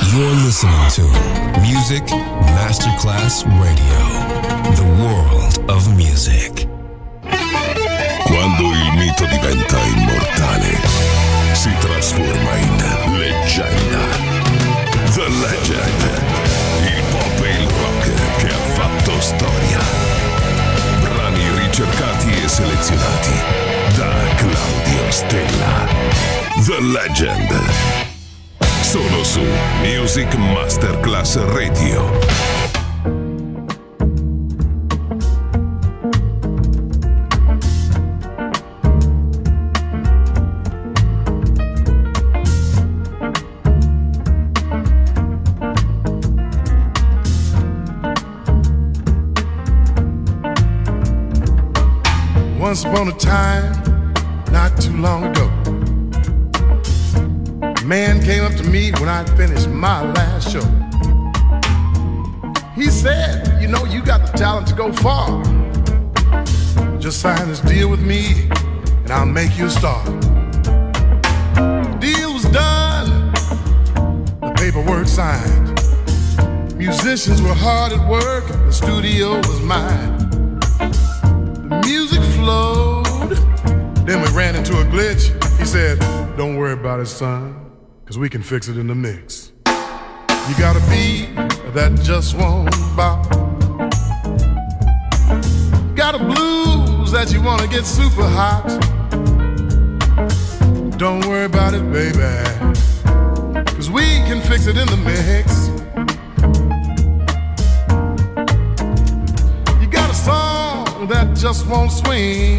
You're listening to Music Masterclass Radio, the world of music. Quando il mito diventa immortale, si trasforma in leggenda. The Legend, il pop e il rock che ha fatto storia. Brani ricercati e selezionati da Claudio Stella. The Legend. Solo su Music Masterclass Radio. Once upon a time, not too long ago, a man came up to me when I'd finished my last show. He said, you know, you got the talent to go far. Just sign this deal with me and I'll make you a star. The deal was done, the paperwork signed. Musicians were hard at work, the studio was mine. The music flowed, then we ran into a glitch. He said, don't worry about it, son, 'cause we can fix it in the mix. You got a beat that just won't bop. Got a blues that you wanna get super hot. Don't worry about it, baby, 'cause we can fix it in the mix. You got a song that just won't swing.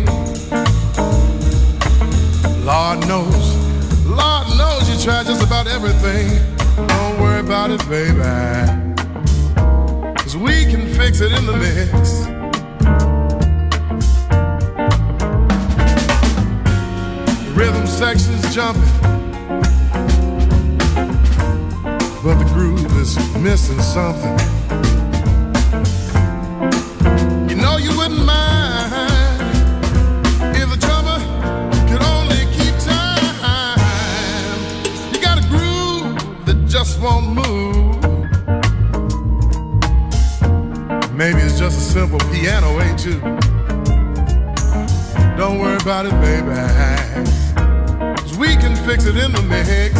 Lord knows you try just about everything. Don't worry about it, baby, 'cause we can fix it in the mix. The rhythm section's jumping, but the groove is missing something. You know you wouldn't mind if the drummer could only keep time. You got a groove that just won't move. Maybe it's just a simple piano etude. Don't worry about it, baby, 'cause we can fix it in the mix.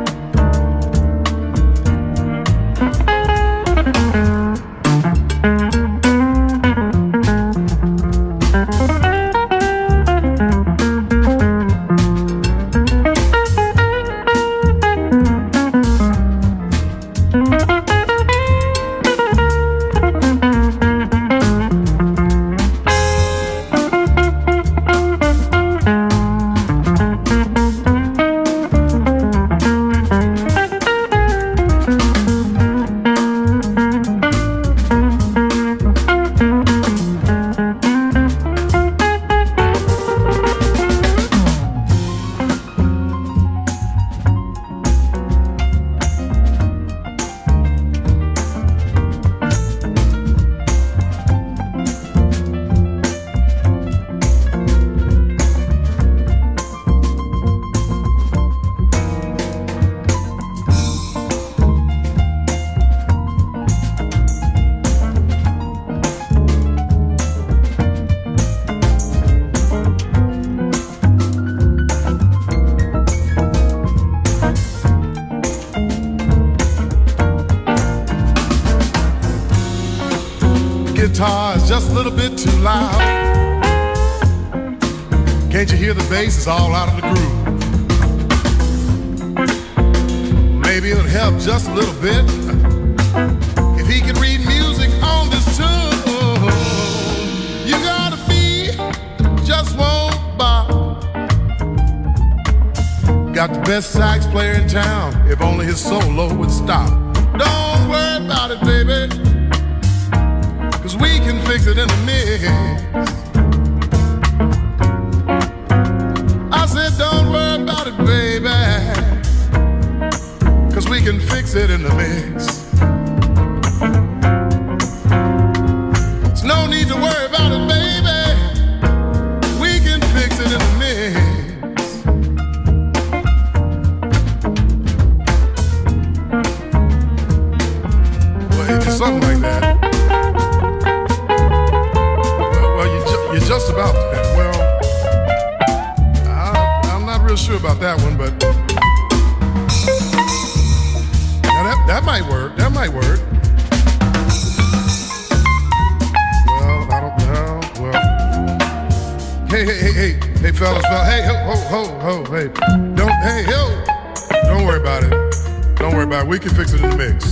Guitar is just a little bit too loud. Can't you hear the bass is all out of the groove? Maybe it'll help just a little bit if he could read music on this tune. You gotta be, just won't bop. Got the best sax player in town, if only his solo would stop. Don't worry about it, baby, 'cause we can fix it in the mix. I said don't worry about it, baby, 'cause we can fix it in the mix. There's no need to worry about it, baby, we can fix it in the mix. something like that. Well, you're just about that. Well, I'm not real sure about that one, but now that might work. That might work. Well, I don't know. Well, hey, fellas, hey, ho, hey, don't worry about it. Don't worry about it. We can fix it in the mix.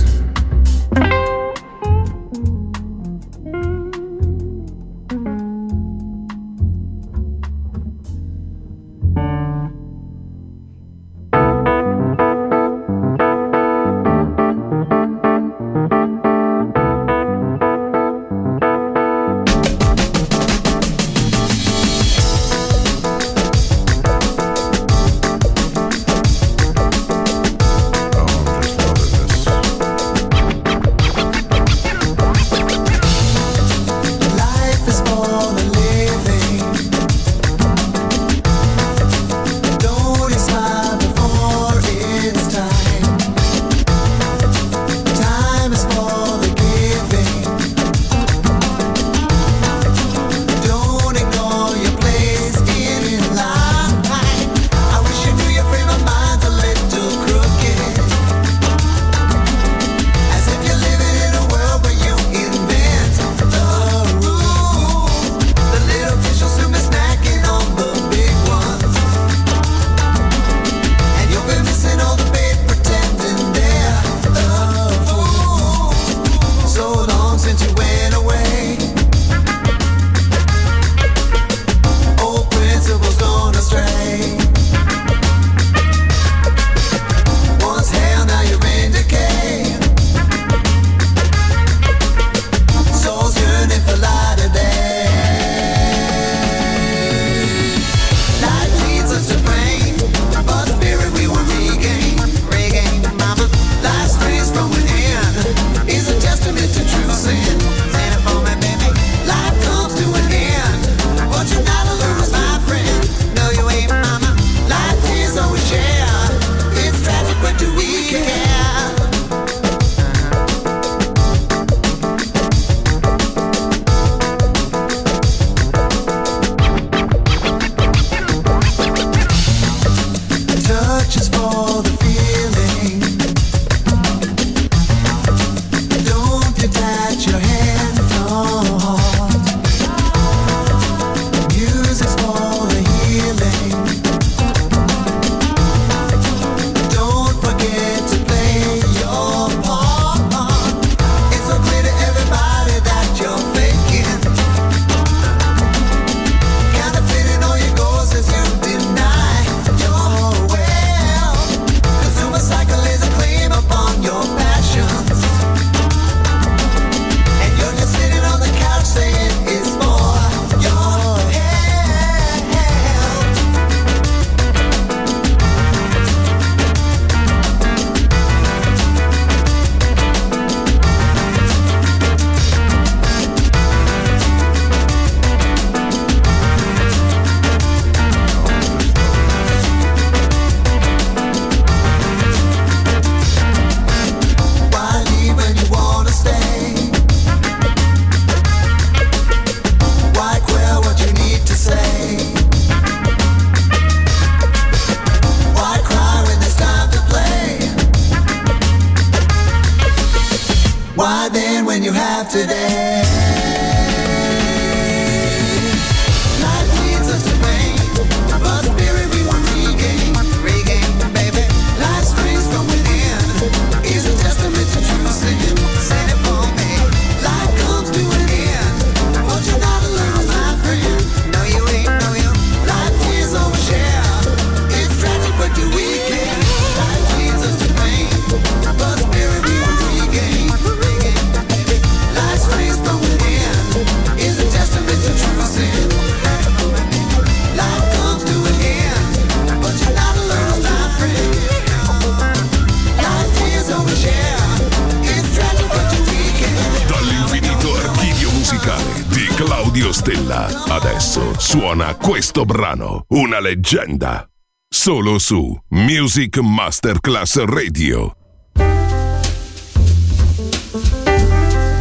Claudio Stella. Adesso suona questo brano, una leggenda. Solo su Music Masterclass Radio.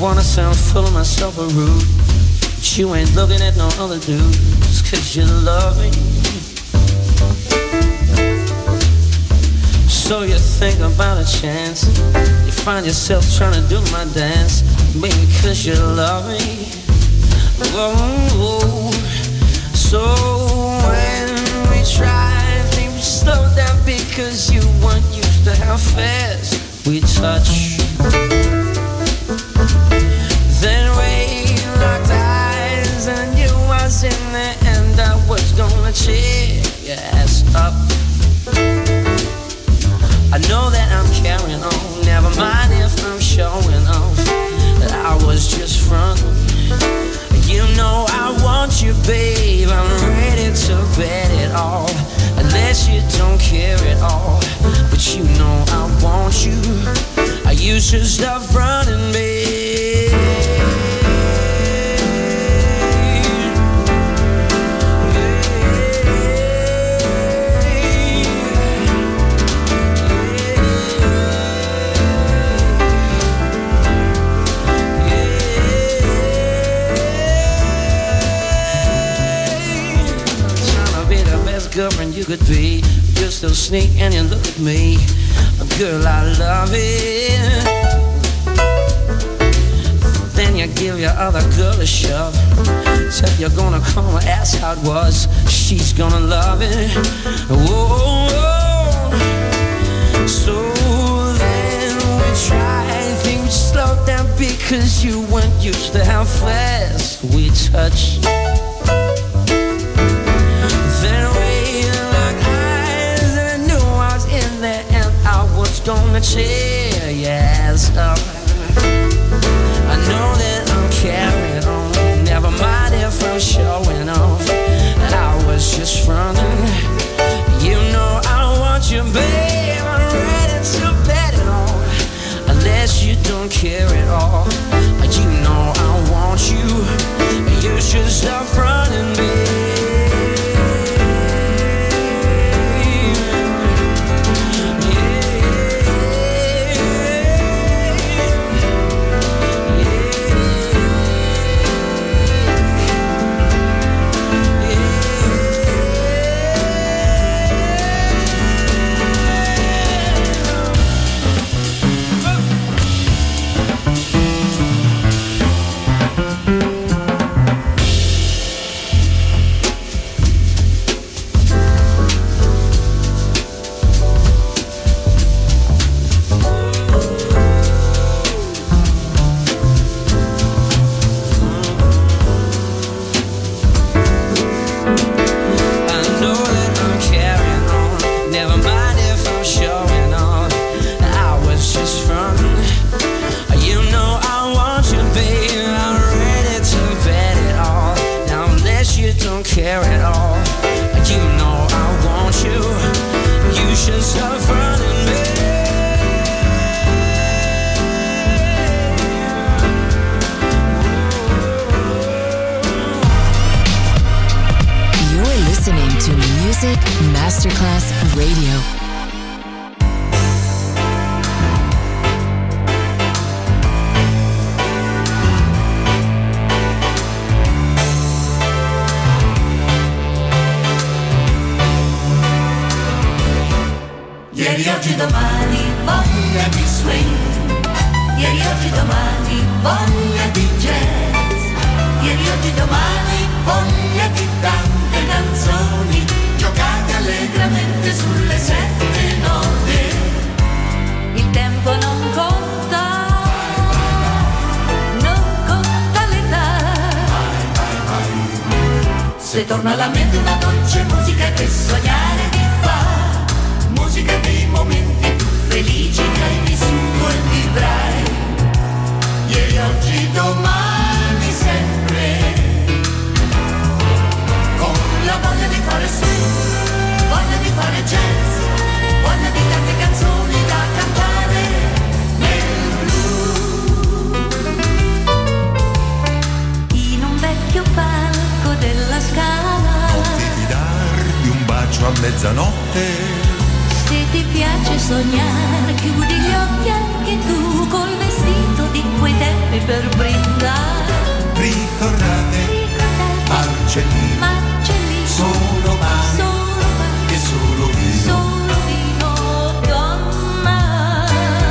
wanna sound full of myself or rude, but you ain't looking at no other dudes, 'cause you love me. So you think about a chance, you find yourself trying to do my dance, maybe 'cause you love me. Whoa. So when we try, things slow down because you weren't used to how fast we touch. Then we locked eyes and I knew I was in there and I was gonna cheer your ass up. I know that I'm carrying on, never mind if I'm showing off that I was just frontin'. You know I want you, babe, I'm ready to bet it all, unless you don't care at all. But you know I want you, you should stop running, babe. Girlfriend you could be, you still sneak and you look at me. Girl, I love it. Then you give your other girl a shove, said you're gonna call her, ask how it was. She's gonna love it. Whoa. So then we try, things slow down because you weren't used to how fast we touch. Gonna tear your ass up. I know that I'm carrying on, never mind if I'm showing off that I was just frontin'. You know I want you, babe, I'm ready to bet it all, unless you don't care at all. You know I want you, you should stop running, babe. Care at all, you know I want you, you should stop running, babe. You're listening to Music Masterclass Radio. Ieri, oggi, domani, voglia di swing. Ieri, oggi, domani, voglia di jazz. Ieri, oggi, domani, voglia di tante canzoni giocate allegramente sulle 7 note. Il tempo non conta, non conta l'età. Se torna alla mente una dolce musica che sognare ti fa. Musica dei momenti più felici che hai vissuto e vivrai. Ieri, oggi, domani, sempre. Con la voglia di fare swing, voglia di fare jazz, voglia di tante canzoni da cantare nel blu. In un vecchio palco della Scala non ti fidar di un bacio a mezzanotte. Se ti piace sognare, chiudi gli occhi anche tu col vestito di quei tempi per brindare. Ricordate, Marcellino, solo pane e solo vino. Solo vino, donna,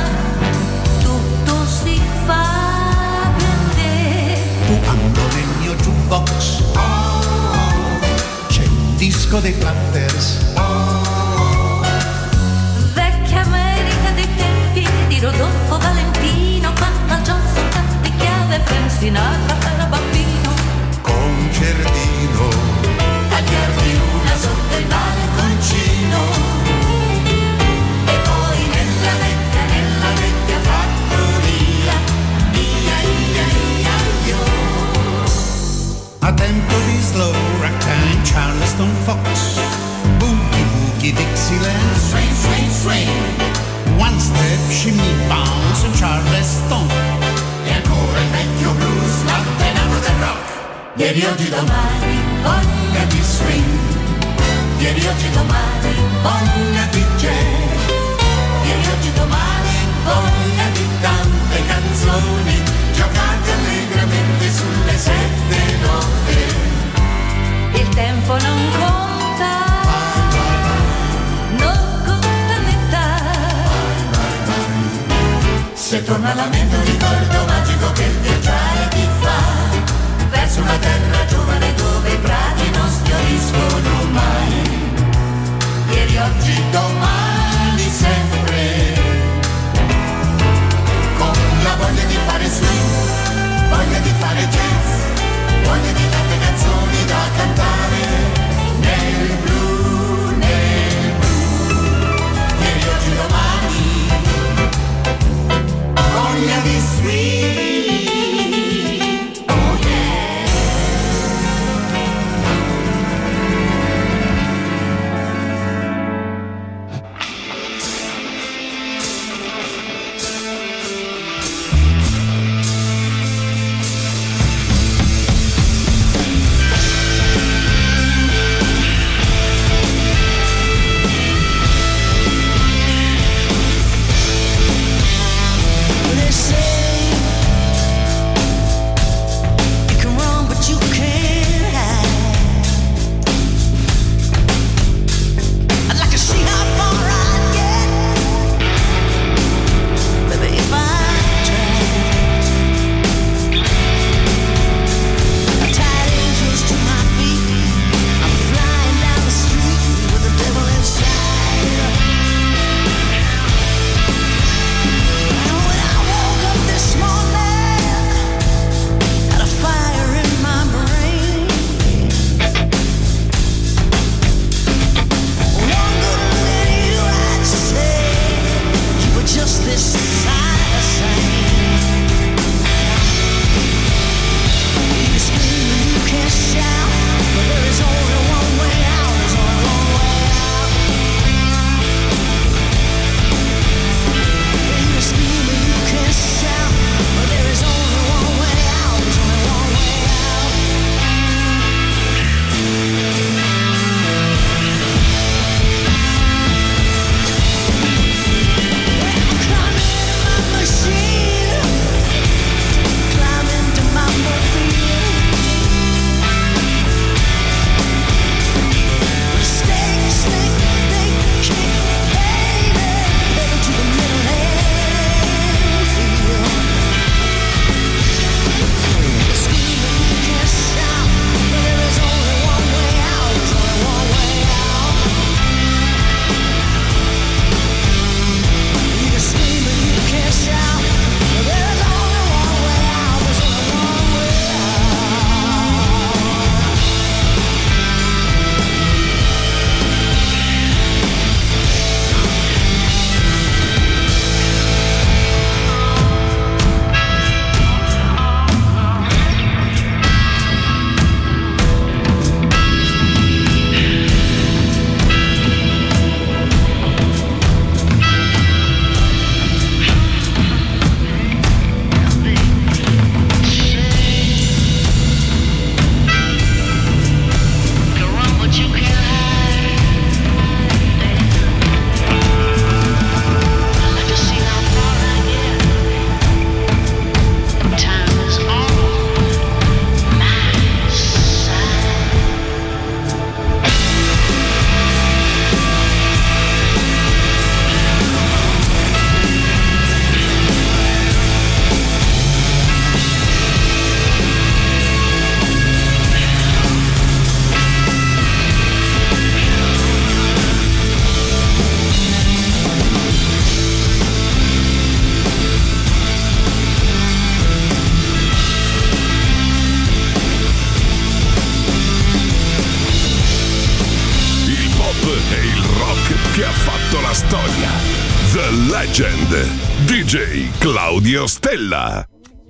tutto si fa per te. Quando nel mio jukebox c'è un disco dei Platters. Vecchia America dei tempi di Rodolfo Valentino, quando John soltanto di chiave Frank Sinatra era bambino. Concertino, Tagliardi una sotto il balconcino. E poi nella vecchia fattoria, ia ia ia io. A tempo di slow ragtime, Charleston Fox, Boogie Boogie Dixieland, Swing, swing, swing. One Step, Shimmy Bounce, Charleston. E ancora il vecchio blues, l'antenamo del rock. Ieri, oggi, domani, voglia di swing. Ieri, oggi, domani, voglia di jazz. Ieri, oggi, domani, voglia di tante canzoni giocate allegramente sulle 7 note. Il tempo non conta, non conta l'età. Se torna la mente un ricordo magico che il viaggiare ti fa verso una terra giovane dove i prati non sfioriscono mai. Ieri, oggi, domani, sempre, con la voglia di fare swing, voglia di fare jazz, voglia di tante canzoni da cantare nel blu, nel blu. Ieri, oggi, domani, voglia di swing. Oh yeah. e il rock che ha fatto la storia. The Legend, DJ Claudio Stella.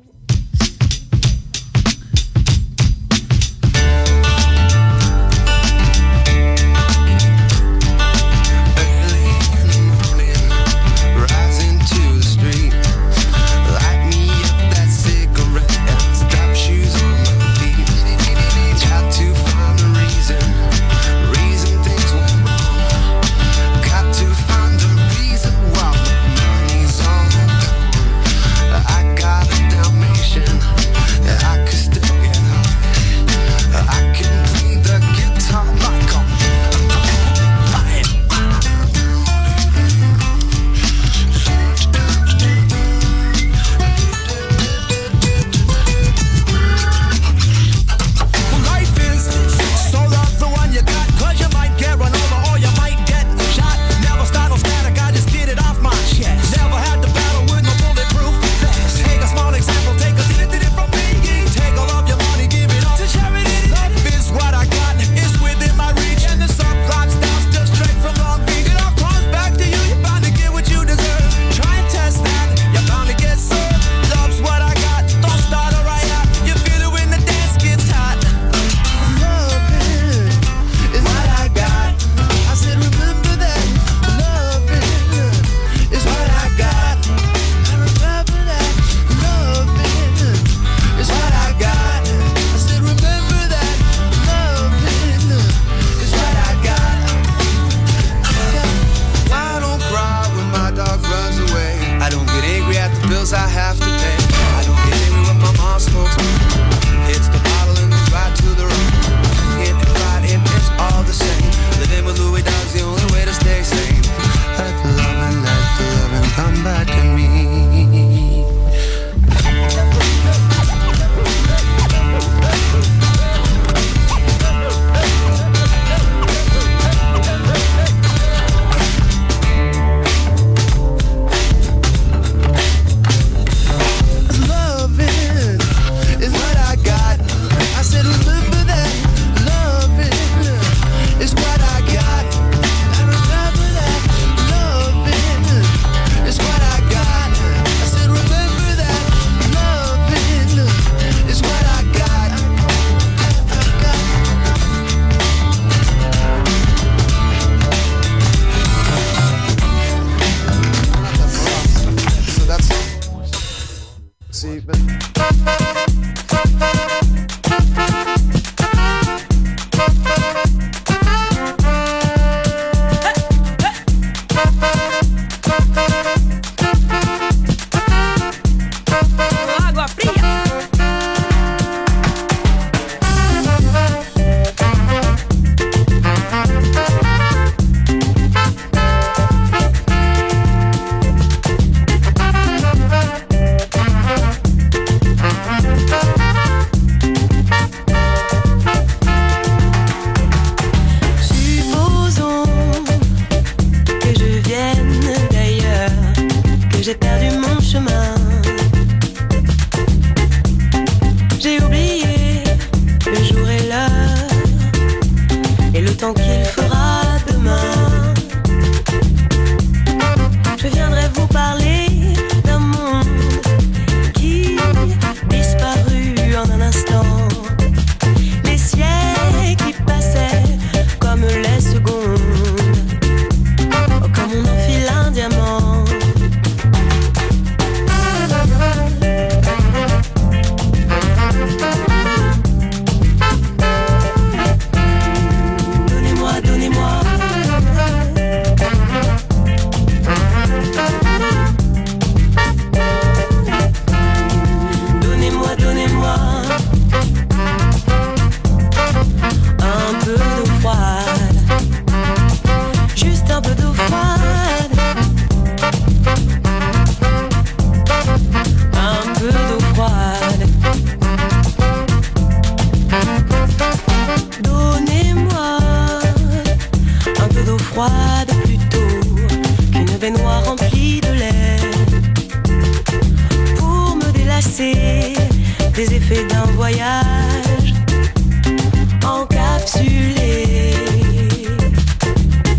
des effets d'un voyage encapsulé.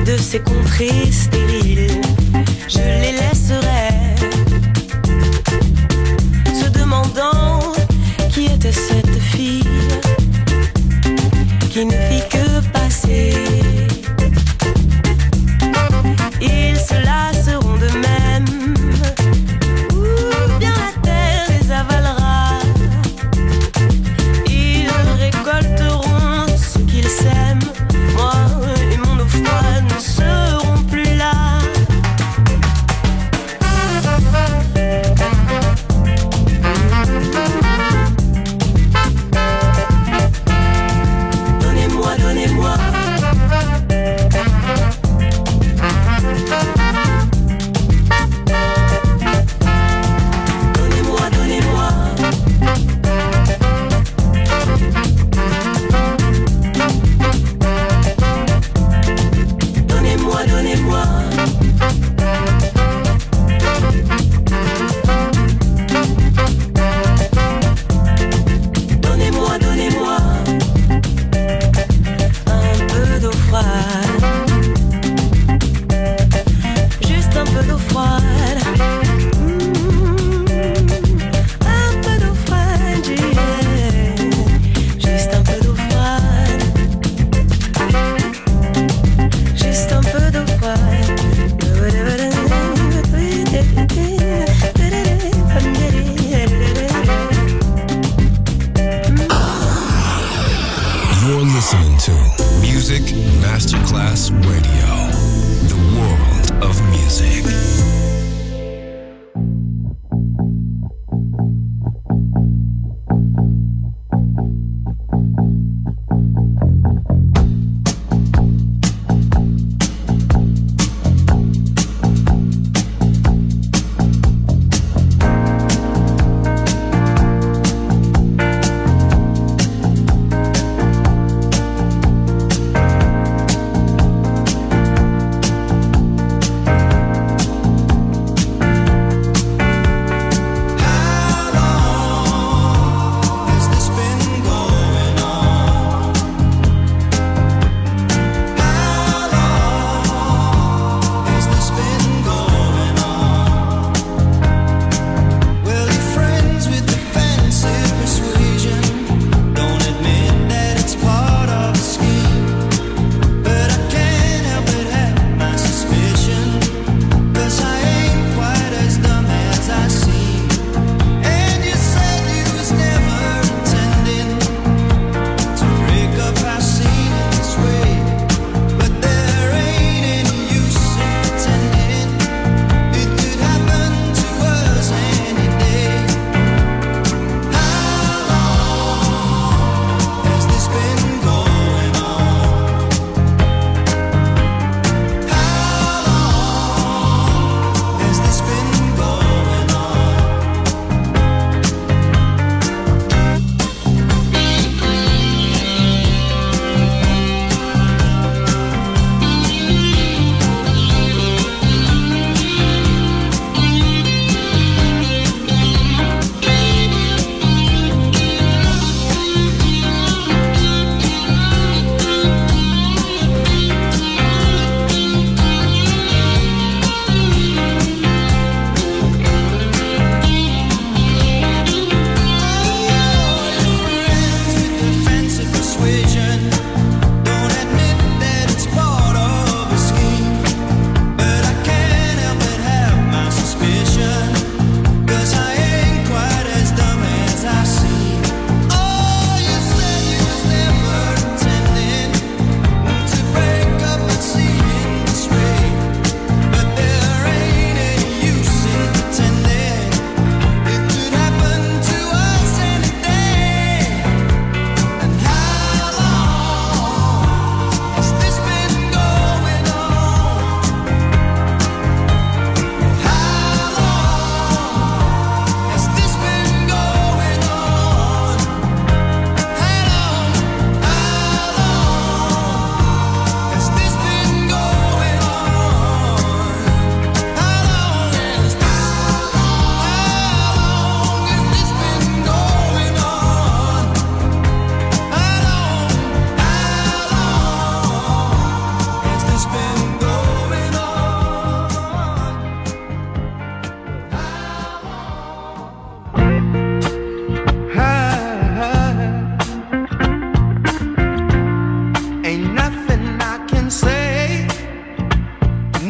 de ces contrées stériles, je les laisserai, se demandant qui était cette fille qui ne fit que passer. Ils se lasseront de même, ou bien la terre les avalera. Ils récolteront ce qu'ils sèment. Moi et mon eau froide ne serons plus là. Donnez-moi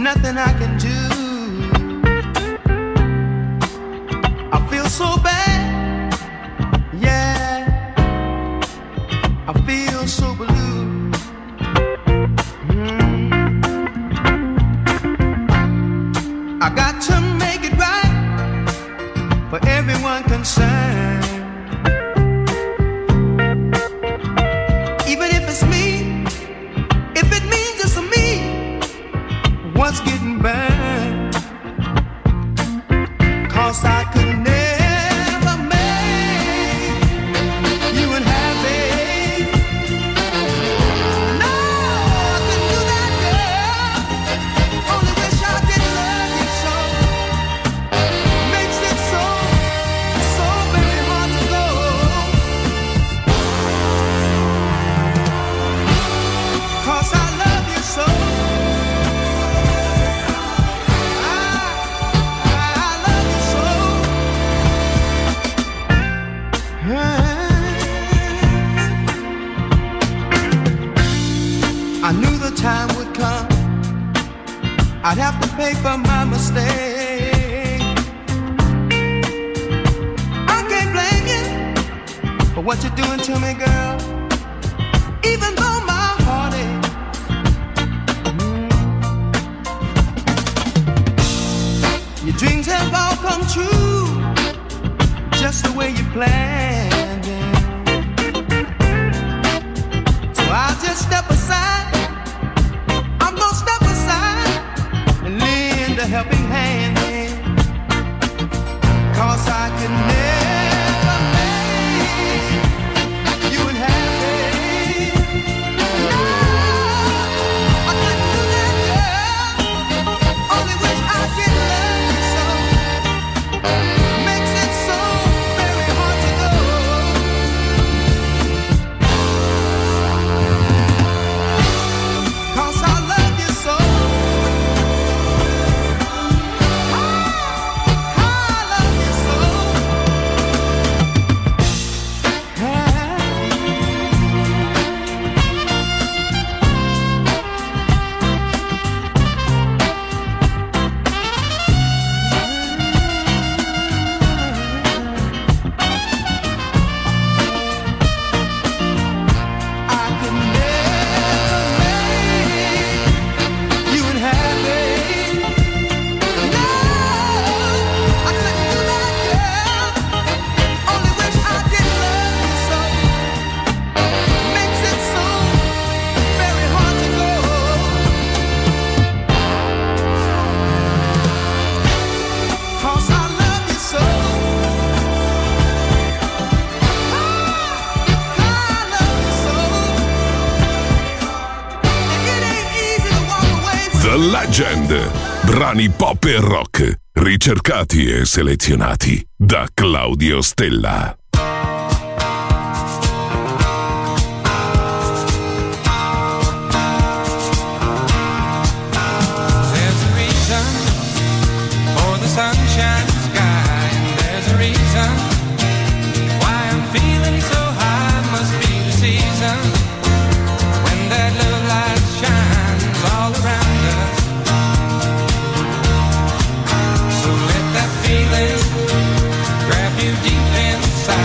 nothing I can do. I feel so bad, yeah. I feel so blue. I got to make it right for everyone concerned. Even if it's me, if it means it's me, what's getting burned? 'Cause I could never make you unhappy. No, I couldn't do that, girl. Only wish I did love you so. Makes it so, so very hard to go. 'Cause I love you so. I knew the time would come, I'd have to pay for my mistake. I can't blame you for what you're doing to me, girl. Even though my heart aches. Your dreams have all come true, just the way you planned it. So I'll just step aside. I'm gonna step aside and lend a helping hand. 'Cause I can never make you unhappy. No, I couldn't do that, girl. Only wish I could love you so. Makes it so very hard to go. 'Cause I love you so. I love you so. I could never make you unhappy. No, I couldn't do that, girl. Only wish I did love you so. Makes it so very hard to go. 'Cause I love you so. I love you so. And it ain't easy to walk away from. The Legend. Brani pop e rock, ricercati e selezionati da Claudio Stella. There's a reason for the sunshine sky, and there's a reason why I'm feeling so high. Must be the season when that love light shines all around us. So let that feeling grab you deep inside.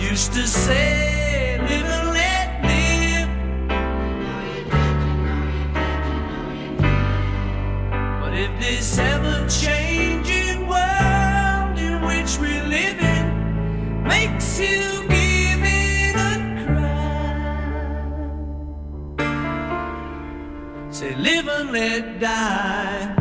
used to say, live and let live. But if this ever-changing world in which we live in makes you give it a cry, say live and let die.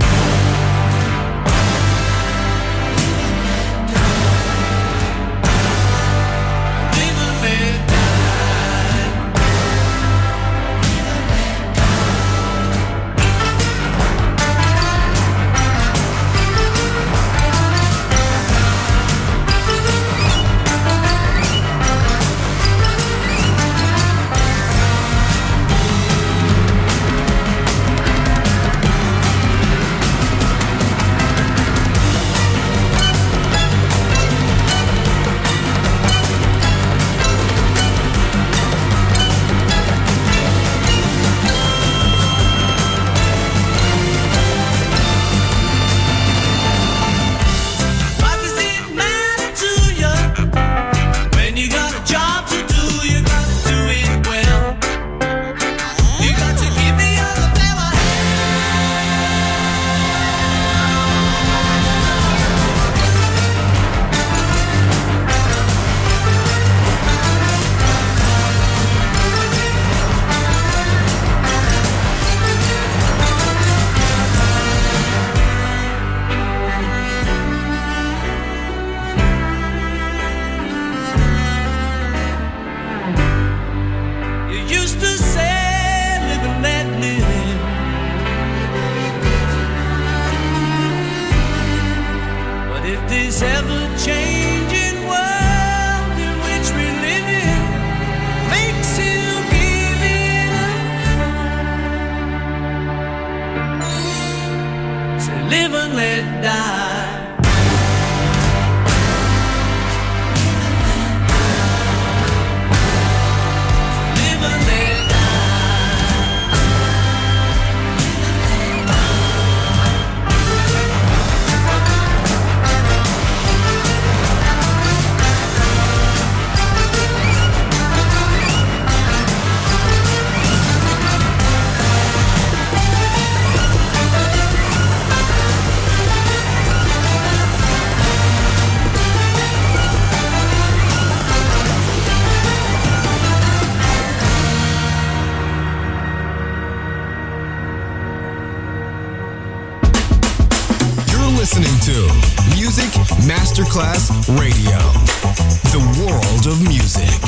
Masterclass Radio, the world of music.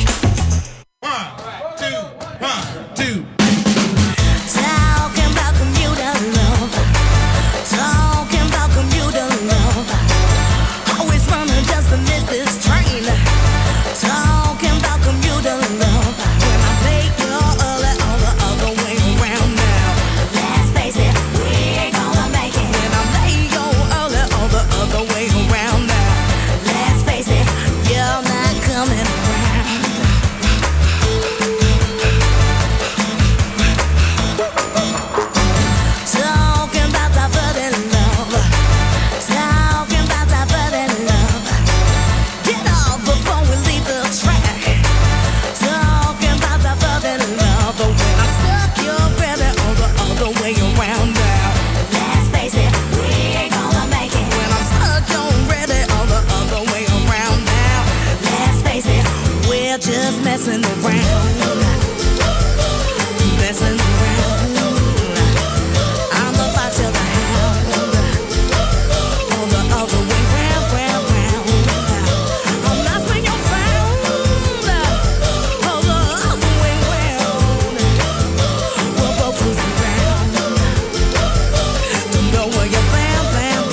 1, 2, 1, 2. Talking about commuter love. Talking about commuter love. Always running just to miss this train. Talking about commuter love. When I make you early all the other way around now. Let's face it, we ain't gonna make it. When I make you early all the other way around now. Let's face it, you're not coming around. Talking about that burden love. Talking about that burden love. Get off before we leave the track. Talking about that burden love. But when I'm stuck, you're ready all the other way around now. Let's face it, we ain't gonna make it. When I'm stuck, you're ready all the other way around now. Let's face it, we're just messing around. Messing around. I'm about to the hound. All the other way round. I'm messing your sound. All the other way round. We're both losing ground. Don't know where you're bound.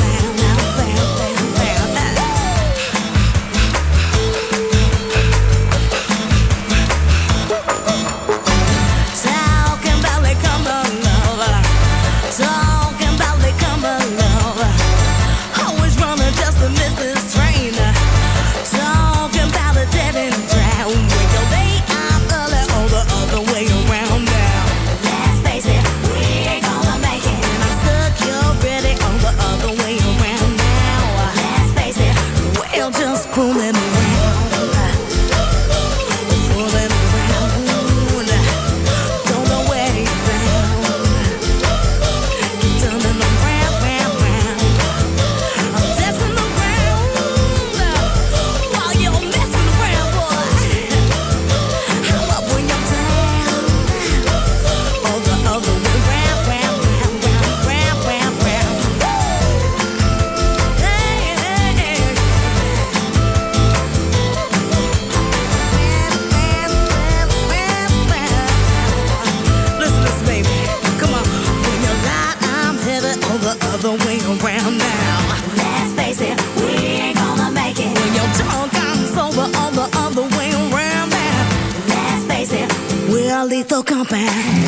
Talking about they come to love. Talking about they come to love. Always running just to miss this train. Talking about a dead end drown. When you're late, I'm early all the other way around now. Let's face it, we ain't gonna make it. When I'm stuck, you're ready all the other way around now. Let's face it, we're just fooling around. lethal compound.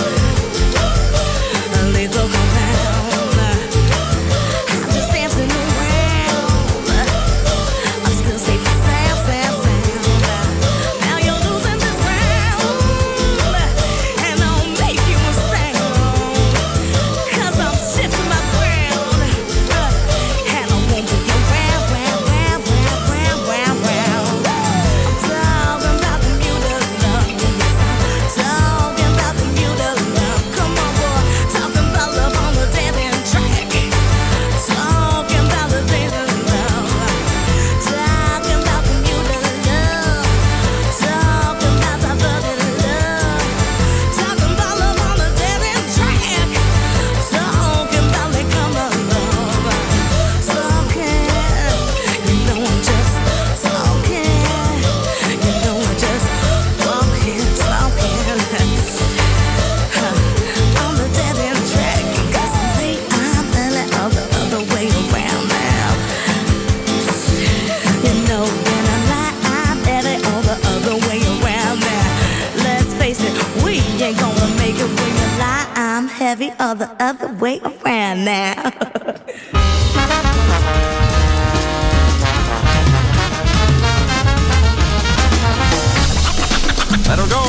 A lethal compound. I'm just dancing around. I'm still safe and sound, sound, sound. Now you're losing this round, and I'll make you a sound. 'Cause I'm shifting my ground, and I won't be around, round, round, round, round, round, round. Talking about the beauty love, talking about the beauty love. Come on, boy, talking about love on the dancing track. Talking about the dancing love, talking about the beauty love, talking about the bugging love, talking about love on the dancing track. Talking about the come of love, talking. You know I'm just talking. You know I'm just walking, talking on the dead end track. 'Cause the way I'm feeling all the other way around now. You know when I lie, I'm feeling all the other way around now. Let's face it, we ain't gonna make it when you lie. I'm heavy all the other way around now. Let her go.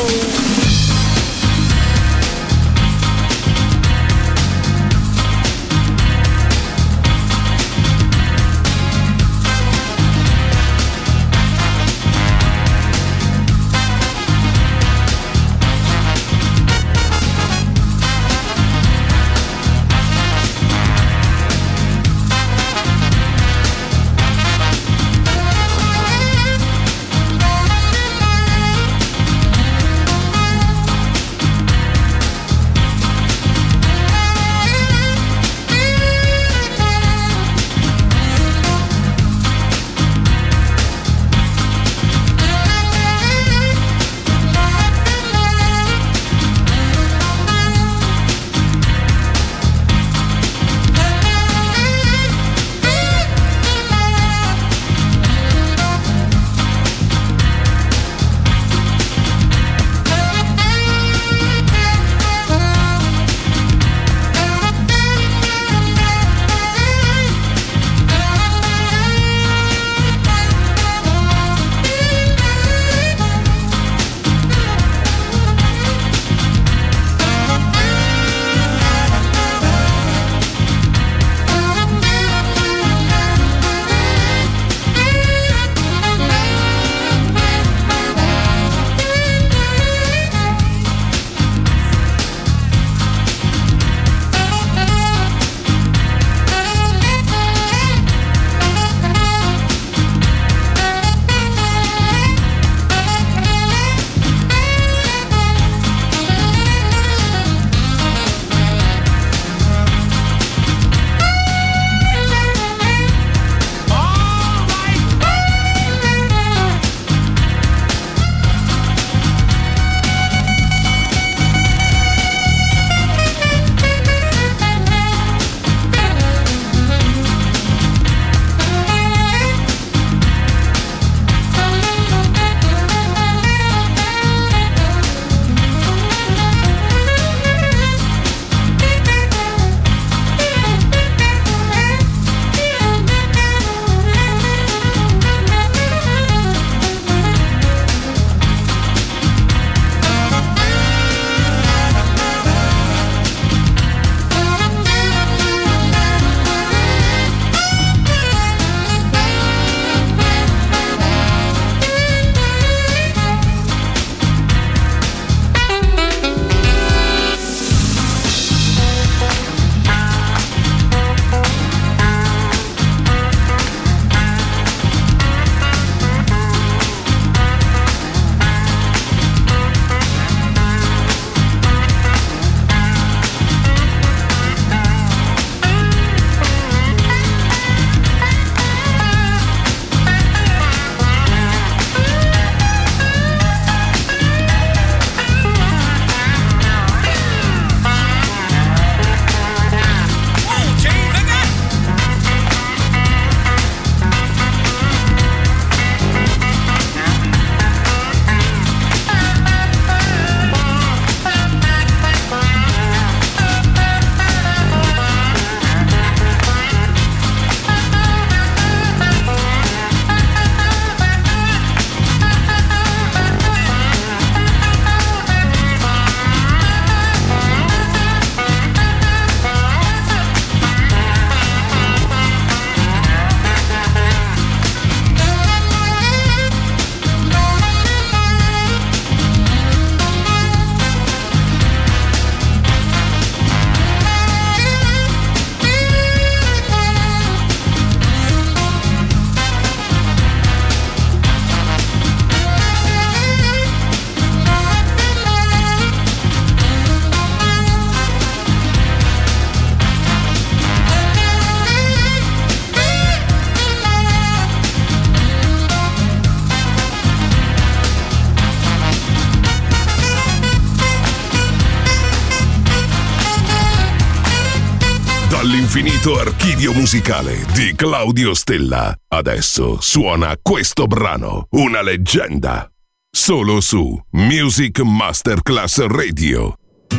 dall'infinito archivio musicale di Claudio Stella. Adesso suona questo brano, una leggenda. Solo su Music Masterclass Radio.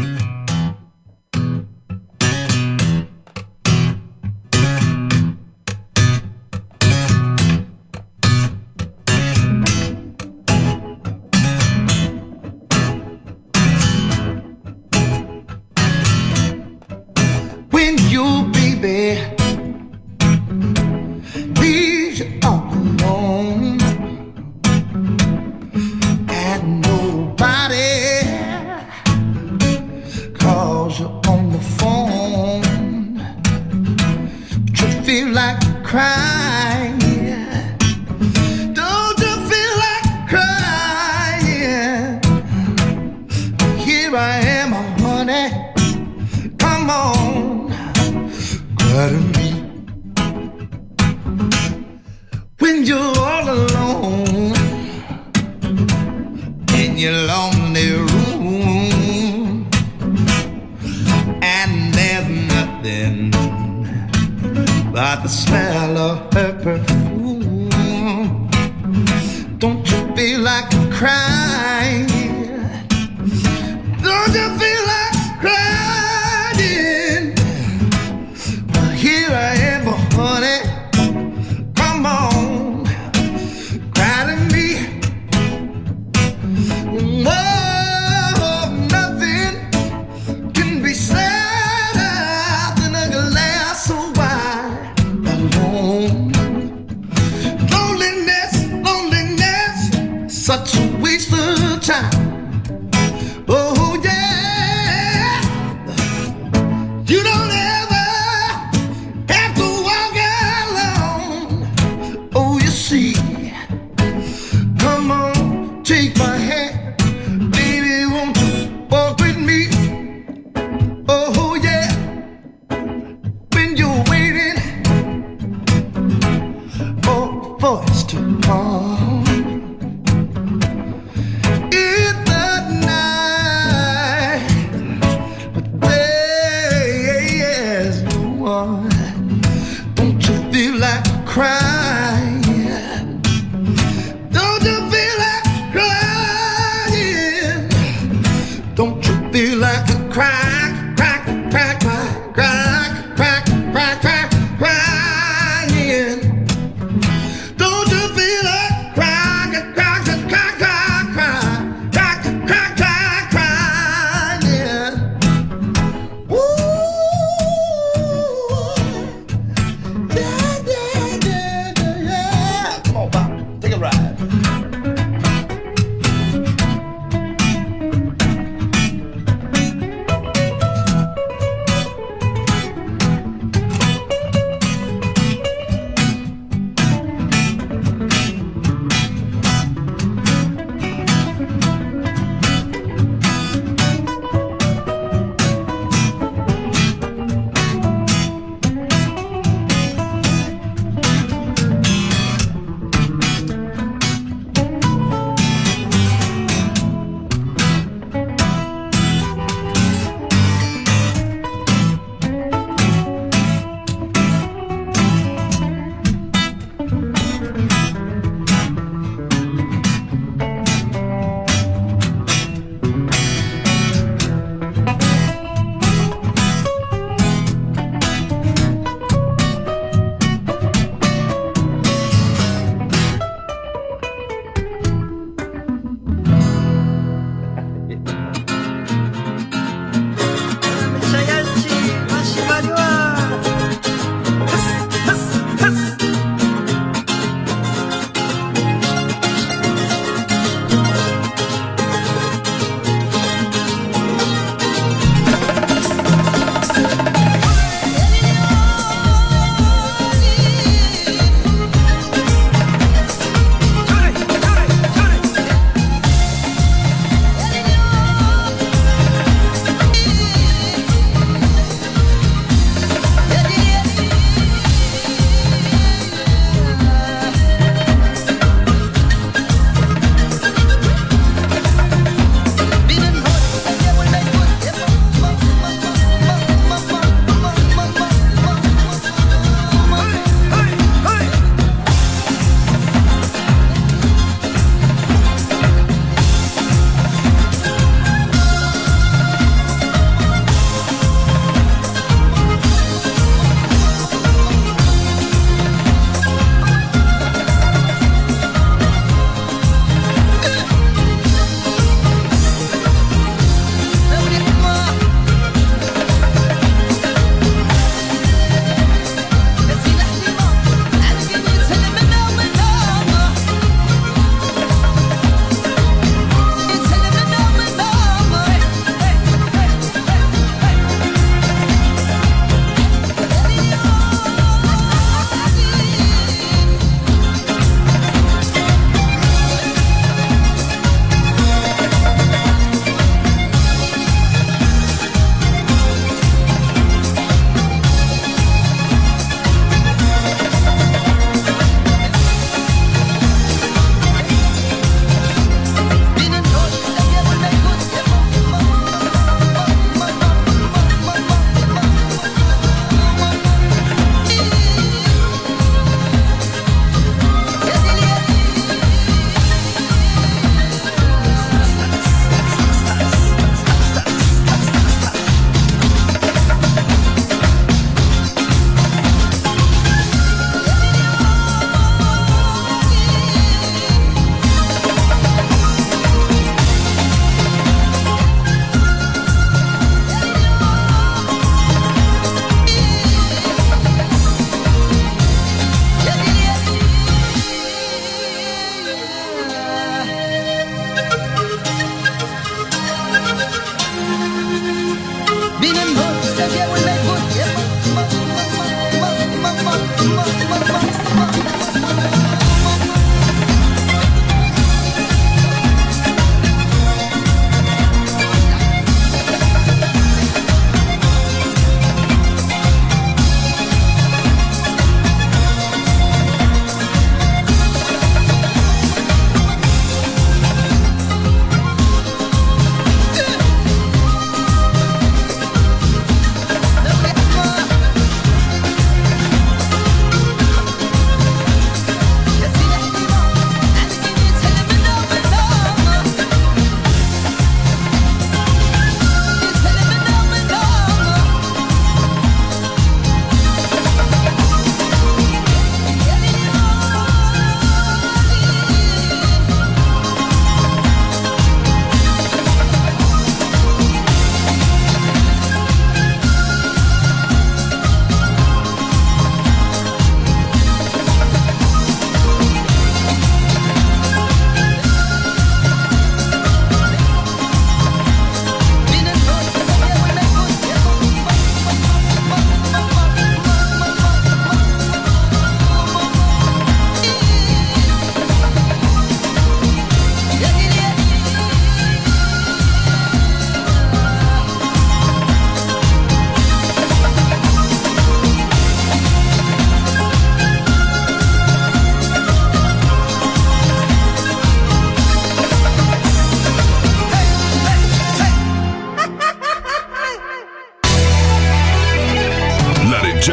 When you, baby, leave you all alone and nobody calls you on the phone, but you feel like crying. Don't you feel like crying? Here I am, honey. Come on, cry to me. When you're all alone in your lonely room and there's nothing but the smell of her perfume, don't you feel like crying? Don't you feel like crying? Here I am, honey. Come on, cry to me. Oh, nothing can be sadder than a glass of wine alone. Loneliness, loneliness, such a waste of time. Oh yeah, you don't ever have to walk alone. Oh, you see, come on, take my hand, baby, won't you walk with me? Oh yeah, when you're waiting for a voice to come in the night, but there's no one. Don't you feel like crying? Don't you feel like crying?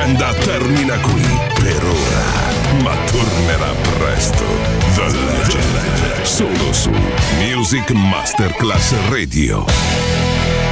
leggenda termina qui per ora, ma tornerà presto. The Legend, solo su Music Masterclass Radio.